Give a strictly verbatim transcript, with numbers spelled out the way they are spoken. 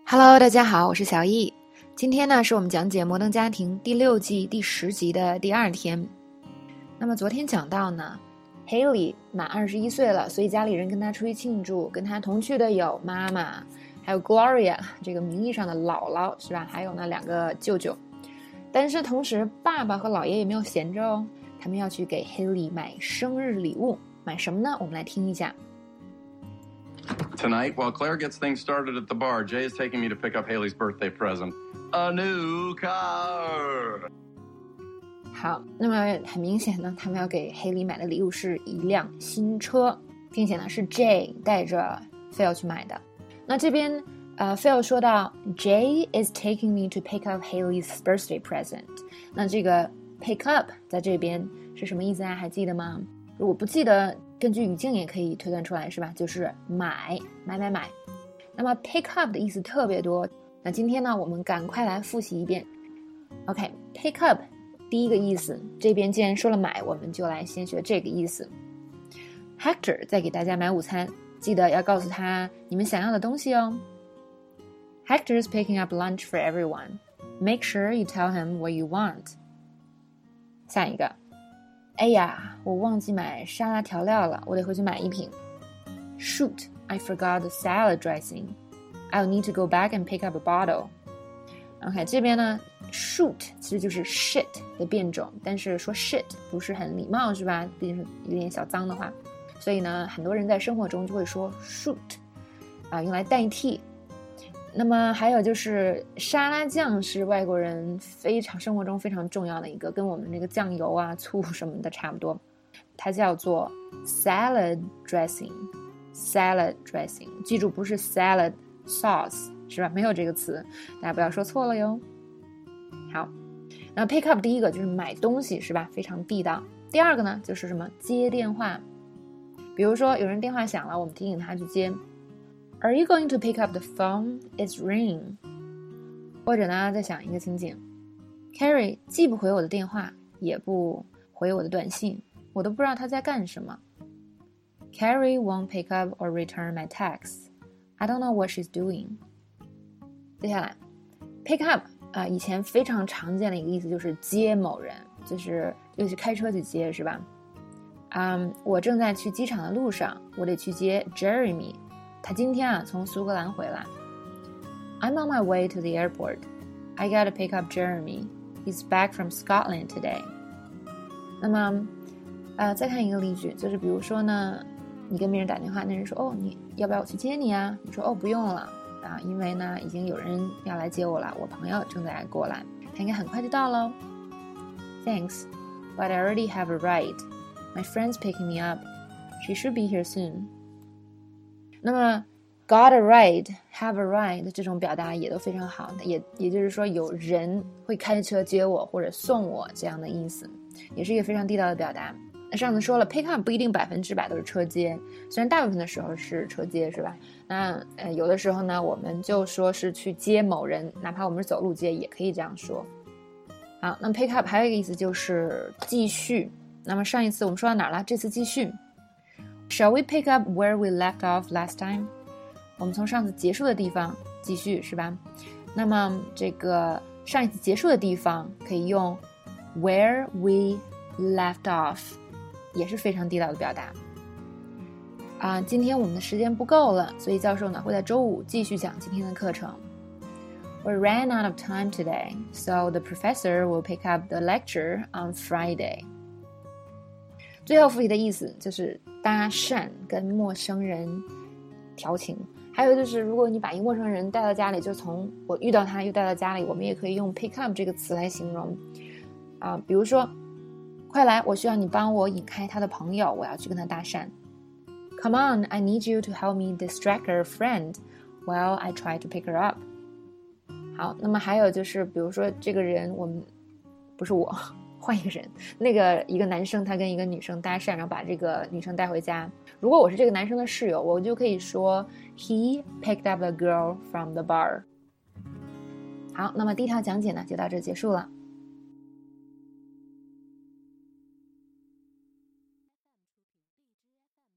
Hello， 大家好，我是小易。今天呢，是我们讲解《摩登家庭》第六季第十集的第二天。那么昨天讲到呢 ，Haley 满二十一岁了，所以家里人跟他出去庆祝，跟他同去的有妈妈，还有 Gloria 这个名义上的姥姥，是吧？还有呢两个舅舅。但是同时，爸爸和姥爷也没有闲着哦，他们要去给 Haley 买生日礼物。买什么呢？我们来听一下。 Tonight, while Claire gets things started at the bar, Jay is taking me to pick up Haley's birthday present, a new car. 好，那么很明显呢，他们要给 Haley 买的礼物是一辆新车，并且呢是 Jay 带着 Phil 去买的。那这边呃 Phil 说到 Jay is taking me to pick up Haley's birthday present。那这个 pick up 在这边是什么意思啊？还记得吗？如果不记得，根据语境也可以推断出来，是吧？就是买买买买。那么 pick up 的意思特别多，那今天呢我们赶快来复习一遍。 OK， pick up 第一个意思，这边既然说了买，我们就来先学这个意思。 Hector 在给大家买午餐，记得要告诉他你们想要的东西哦。 Hector's picking up lunch for everyone. Make sure you tell him what you want. 下一个，哎呀，我忘记买沙拉调料了，我得回去买一瓶。 Shoot, I forgot the salad dressing. I'll need to go back and pick up a bottle. OK， 这边呢 shoot 其实就是 shit 的变种，但是说 shit 不是很礼貌，是吧？毕竟是有点小脏的话，所以呢很多人在生活中就会说 shoot 啊，用来代替。那么还有就是沙拉酱是外国人非常生活中非常重要的一个，跟我们这个酱油啊醋什么的差不多，它叫做 salad dressing. Salad dressing， 记住不是 salad sauce， 是吧？没有这个词，大家不要说错了哟。好，那 pick up 第一个就是买东西，是吧？非常地道。第二个呢就是什么？接电话。比如说有人电话响了，我们提醒他去接。Are you going to pick up the phone? It's ringing. 或者呢，再想一个情景 ，Carrie 既不回我的电话，也不回我的短信，我都不知道他在干什么。Carrie won't pick up or return my texts. I don't know what she's doing. 接下来 ，pick up 啊、呃，以前非常常见的一个意思就是接某人，就是又是开车去接，是吧？嗯，我正在去机场的路上，我得去接 Jeremy。他今天啊从苏格兰回来。I'm on my way to the airport. I gotta pick up Jeremy. He's back from Scotland today. 那么，呃，再看一个例句，就是比如说呢，你跟别人打电话，那人说，哦，你要不要我去接你啊？你说，哦，不用了啊，因为呢，已经有人要来接我了，我朋友正在过来，他应该很快就到了。Thanks, but I already have a ride. My friend's picking me up. She should be here soon.那么 got a ride, have a ride 这种表达也都非常好，也也就是说有人会开车接我或者送我这样的意思，也是一个非常地道的表达。那上次说了 pick up 不一定百分之百都是车接，虽然大部分的时候是车接，是吧？那呃有的时候呢我们就说是去接某人，哪怕我们是走路接也可以这样说。好，那么 pick up 还有一个意思就是继续。那么上一次我们说到哪儿了？这次继续。Shall we pick up where we left off last time? 我们从上次结束的地方继续，是吧？那么这个上一次结束的地方可以用 where we left off， 也是非常地道的表达。啊，今天我们的时间不够了，所以教授呢会在周五继续讲今天的课程。We ran out of time today, so the professor will pick up the lecture on Friday. 最后复习的意思就是搭讪，跟陌生人调情。还有就是如果你把一个陌生人带到家里，就从我遇到他又带到家里，我们也可以用 pick up 这个词来形容啊。比如说，快来，我需要你帮我引开他的朋友，我要去跟他搭讪。Come on, I need you to help me distract her friend while I try to pick her up. 好，那么还有就是比如说这个人，我们不是我换一个人，那个一个男生他跟一个女生搭讪，然后把这个女生带回家。如果我是这个男生的室友，我就可以说 He picked up a girl from the bar. 好，那么第一条讲解呢就到这结束了。